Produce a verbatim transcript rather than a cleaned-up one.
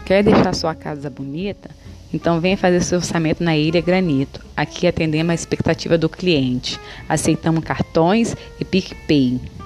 Quer deixar sua casa bonita? Então venha fazer seu orçamento na Ilha Granito. Aqui atendemos a expectativa do cliente. Aceitamos cartões e PicPay.